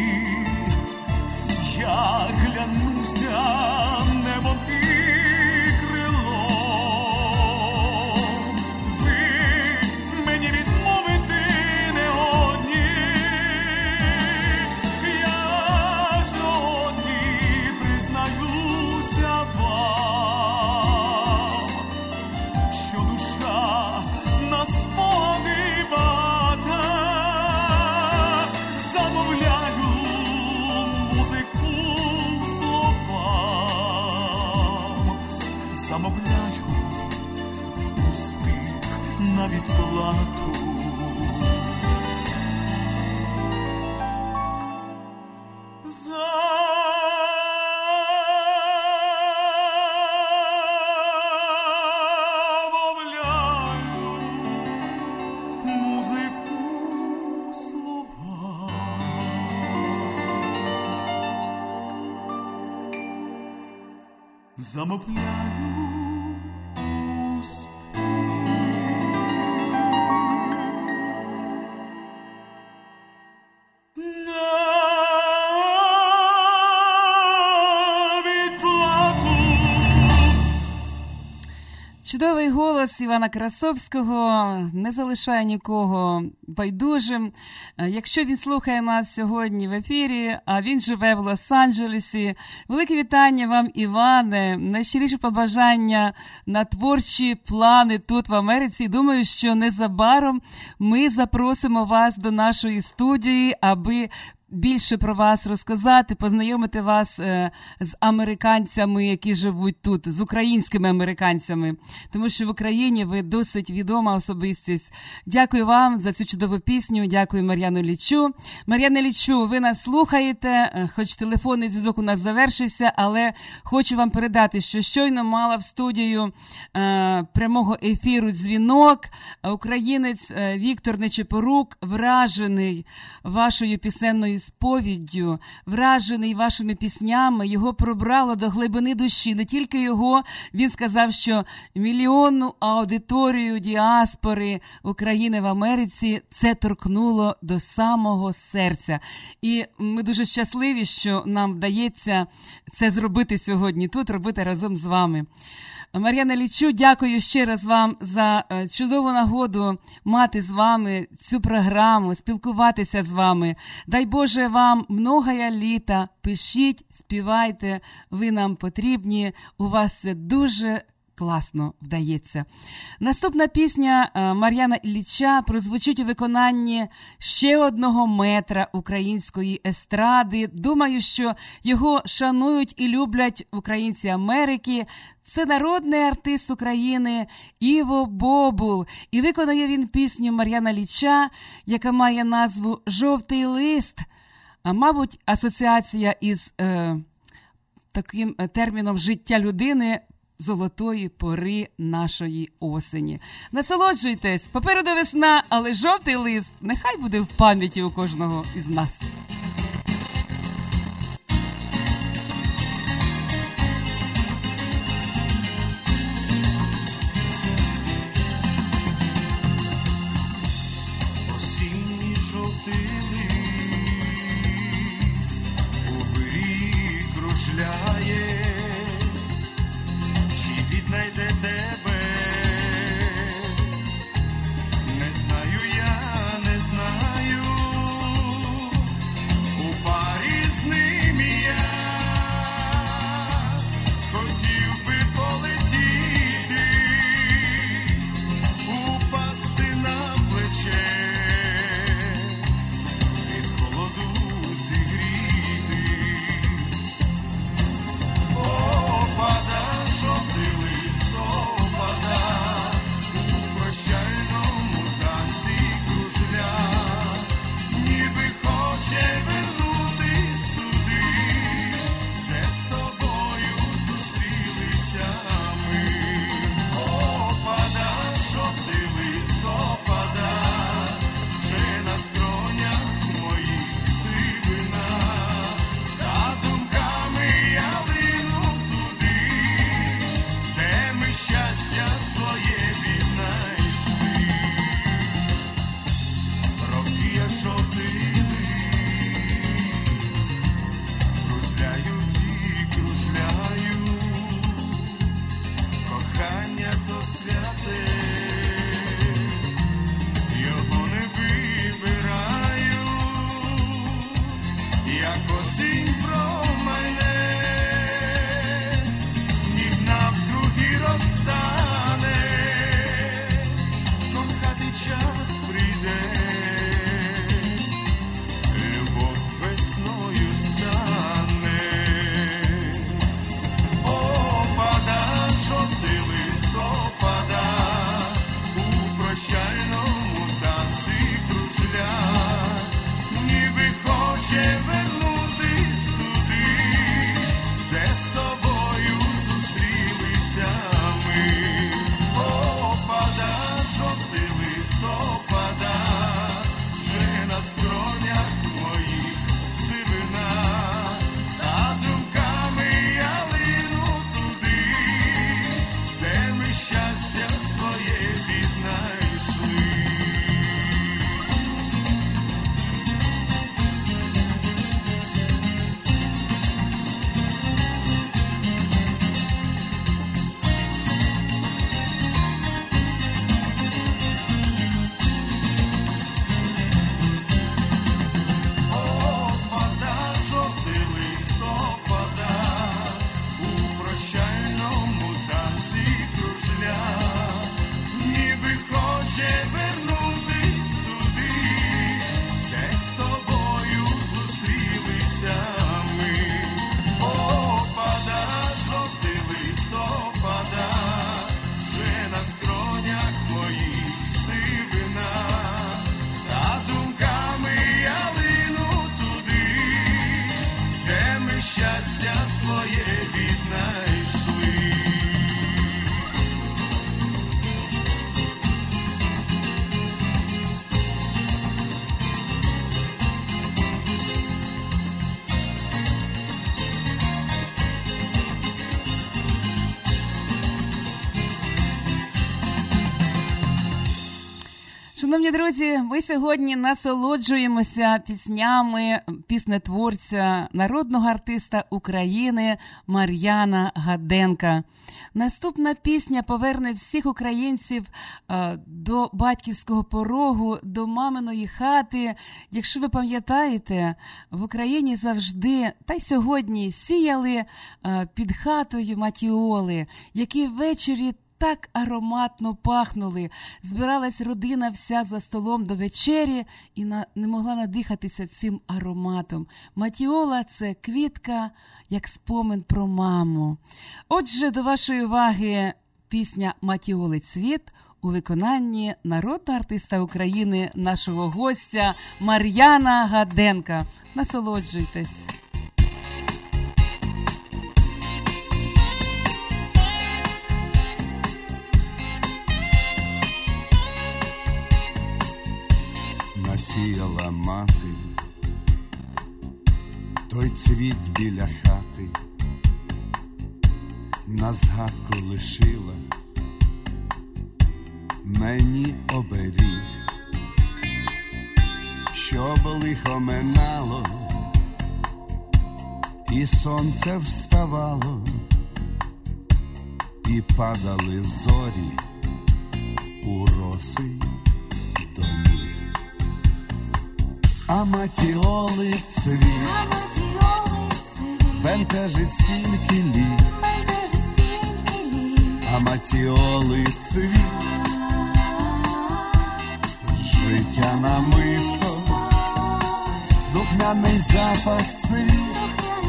Я клянуся небом і крилом, ви мені відмовити не одні. Я сьогодні признаюся вам, що душа на спогади багата. Замовляю музику словам, замовляю успіх на відплату. Замовляю музику слова. Замовляю успіх на відплату. Чудовий голос Івана Красовського не залишає нікого байдужим. Якщо він слухає нас сьогодні в ефірі, а він живе в Лос-Анджелесі, велике вітання вам, Іване, найщиріше побажання на творчі плани тут в Америці. Думаю, що незабаром ми запросимо вас до нашої студії, аби більше про вас розказати, познайомити вас з американцями, які живуть тут, з українськими американцями, тому що в Україні ви досить відома особистість. Дякую вам за цю чудову пісню, дякую Мар'яну Іллічу. Мар'яна Іллічу, ви нас слухаєте, хоч телефонний зв'язок у нас завершився, але хочу вам передати, що щойно мала в студію прямого ефіру дзвінок українець Віктор Нечепорук, вражений вашою пісенною сповіддю, вражений вашими піснями, його пробрало до глибини душі. Не тільки його, він сказав, що мільйонну аудиторію діаспори України в Америці це торкнуло до самого серця. І ми дуже щасливі, що нам вдається це зробити сьогодні тут, робити разом з вами. Мар'яна Іллічу, дякую ще раз вам за чудову нагоду мати з вами цю програму, спілкуватися з вами. Дай Боже вам многая літа, пишіть, співайте, ви нам потрібні, у вас це дуже класно вдається. Наступна пісня Мар'яна Ілліча прозвучить у виконанні ще одного метра української естради. Думаю, що його шанують і люблять українці Америки. Це народний артист України Іво Бобул. І виконує він пісню Мар'яна Ілліча, яка має назву «Жовтий лист». А, мабуть, асоціація із таким терміном життя людини золотої пори нашої осені. Насолоджуйтесь, попереду весна, але жовтий лист нехай буде в пам'яті у кожного із нас. знайде тебе. Не знаю я, не знаю, у парі з ним я хотів би полетіти, упасти на плече, від холоду зігрітись. Опада, жовтий листопада, у прощальному танці кружля, ніби хоче вернутись туди, де з тобою зустрілися ми. Опада, жовтий листопада, вже на скронях моїх сивина, та думками я лину туди, де ми щастя своє віднайшли. Роки, як жовтий лист, кружляють і кружляють, кохання то святе, його не вибираю, як осінь промайне, сніг навкруги розтане, кохати час прийде, любов весною стане. Опада, жовтий листопада, у прощальному танці кружля, ніби хоче вернутись туди, де з тобою зустрілися ми. Опада, жовтий листопада, вже на скронях моїх сивина, та думками я лину туди, де ми щастя своє віднайшли. Опада, жовтий листопада, у прощальному танці кружля, ніби хоче вернутись туди, де з тобою зустрілися ми. Опада, жовтий листопада, вже на скронях моїх сивина, та думками я лину туди, де ми щастя своє віднайшли. Шановні друзі, ми сьогодні насолоджуємося піснями піснетворця, народного артиста України Мар'яна Гаденка. Наступна пісня поверне всіх українців до батьківського порогу, до маминої хати. Якщо ви пам'ятаєте, в Україні завжди, та й сьогодні, сіяли під хатою матіоли, які ввечері так ароматно пахнули. Збиралась родина вся за столом до вечері і не могла надихатися цим ароматом. Матіола – це квітка, як спомин про маму. Отже, до вашої уваги пісня «Матіоли цвіт» у виконанні народного артиста України, нашого гостя Мар'яна Гаденка. Насолоджуйтесь. Насіяла мати той цвіт біля хати, на згадку лишила мені оберіг, щоб лихо минало і сонце вставало, і падали зорі у роси до ніг. Аматіоли цвіт бентежить стільки літ. Аматіоли цвіт, життя намисто, духмяний запах цвіт,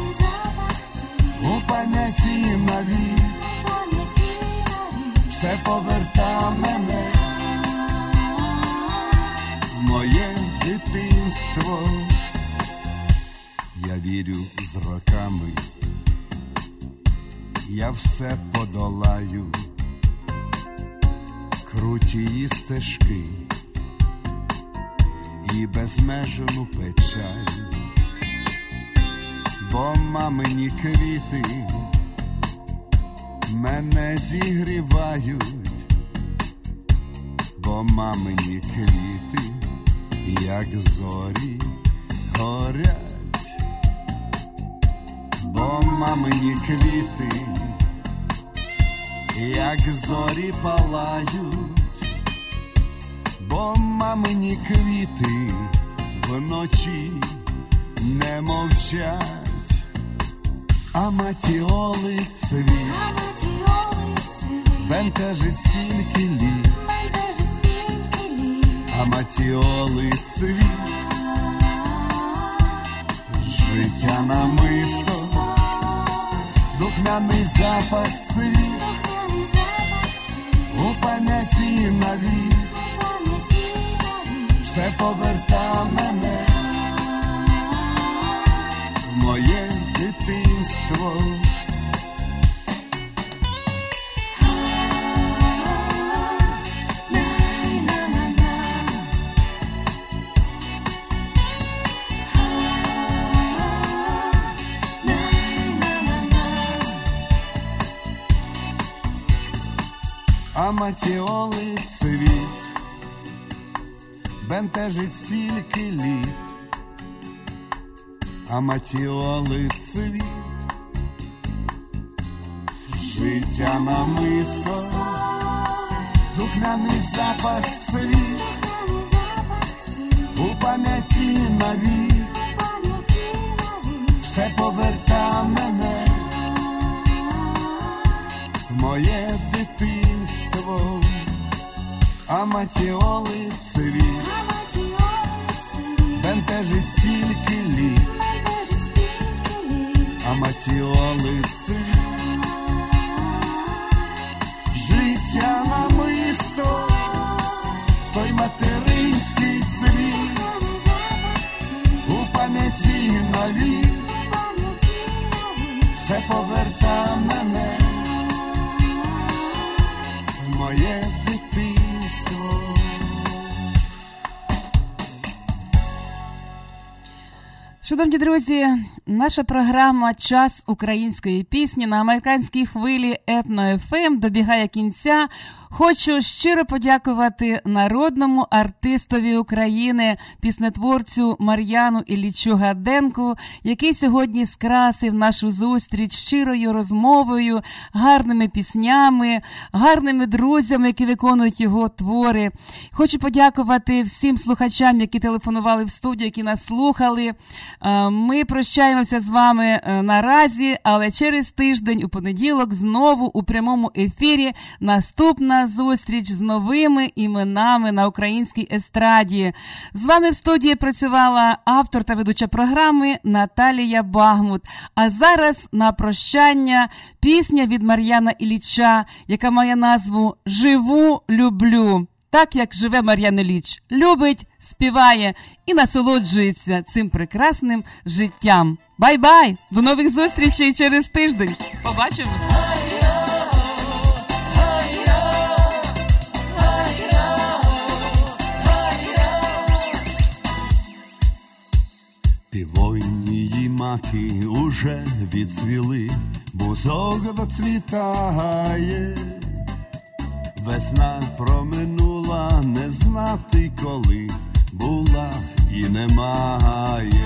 у пам'яті навік, все поверта мене в моє дитинство. Я вірю з роками, я все подолаю, крутії стежки і безмежну печаль, бо мамині квіти мене зігрівають, бо мамині квіти, як зорі, горять, бо мамині квіти, як зорі палають, бо мамині квіти вночі не мовчать. Аматіоли цвіт бентежить стільки літ. Аматіоли цвіт, життя намисто, духмяний запах цвіт, у пам'яті навік, все поверта мене в моє дитинство. Аматіоли цвіт бентежить стільки літ. Аматіоли цвіт, життя намисто, духмяний запах цвіт, у пам'яті навік, все поверта мене в моє дитинство. Аматіоли цвіт бентежить стільки літ. Аматіоли цвіт, життя намисто, той материнський цвіт, у пам'яті навік, все поверта мене в моє дитинство. Шановні друзі, наша програма «Час української пісні» на американській хвилі Етно-ФМ добігає кінця. Хочу щиро подякувати народному артистові України, піснетворцю Мар'яну Іллічу Гаденку, який сьогодні скрасив нашу зустріч щирою розмовою, гарними піснями, гарними друзями, які виконують його твори. Хочу подякувати всім слухачам, які телефонували в студію, які нас слухали. Ми прощаємося з вами наразі, але через тиждень, у понеділок, знову у прямому ефірі наступна зустріч з новими іменами на українській естраді. З вами в студії працювала автор та ведуча програми Наталія Багмут. А зараз на прощання пісня від Мар'яна Ілліча, яка має назву «Живу, люблю». Так, як живе Мар'ян Ілліч. Любить, співає і насолоджується цим прекрасним життям. Бай-бай! До нових зустрічей через тиждень. Побачимось! Півонії маки уже відцвіли, бузок доцвітає. Весна проминула, не знати коли, була і немає.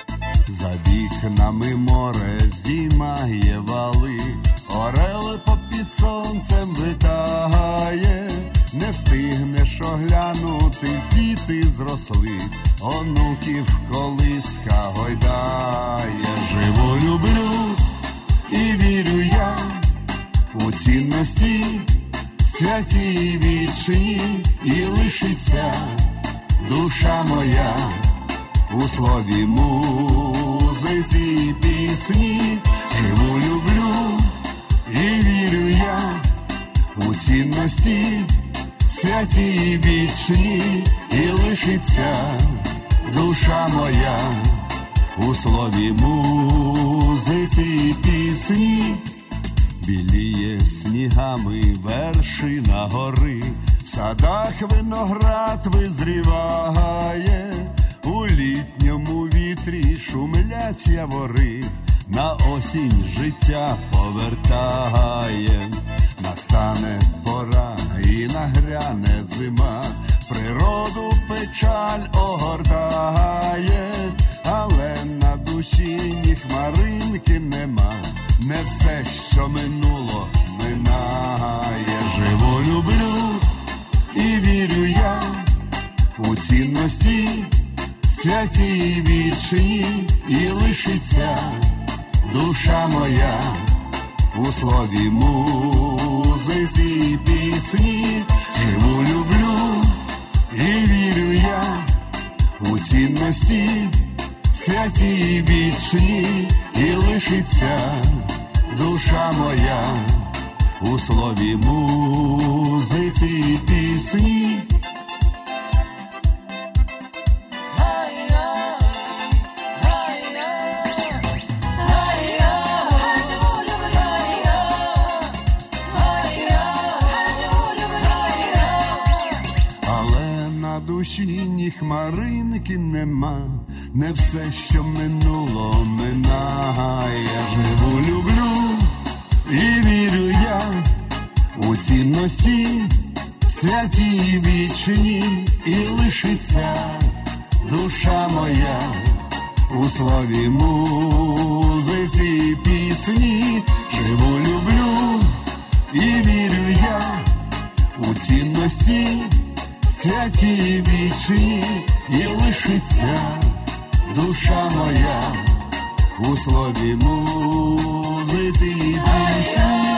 За вікнами море здіймає вали, орел попів. під сонцем витає, не встигнеш оглянути, діти зросли, онуків колиска гойдає. Живу, люблю і вірю я у цінності святі і вічні, і лишиться душа моя у слові, музиці і пісні. Живу, люблю і вірю я у цінності святі і вічні, і лишиться душа моя у слові, музиці і пісні. Біліє снігами вершина гори, в садах виноград визріває, у літньому вітрі шумлять явори, на осінь життя повертає. Настане пора і нагряне зима, природу печаль огортає, але на душі ні хмаринки нема, не все, що минуло, минає. Живу, люблю і вірю я у цінності святі і вічні, і лишиться душа моя у слові, музиці і пісні. Живу, люблю і вірю я у цінності святі і вічні, і лишиться душа моя у слові, музиці і пісні. Але на душі ні хмаринки нема, не все, що минуло, минає. Живу, люблю і вірю я у цінності святі і вічні, і лишиться душа моя у слові, музиці і пісні. Живу, люблю і вірю я у цінності святі і вічні, і лишиться душа моя у слові, музиці і пісні.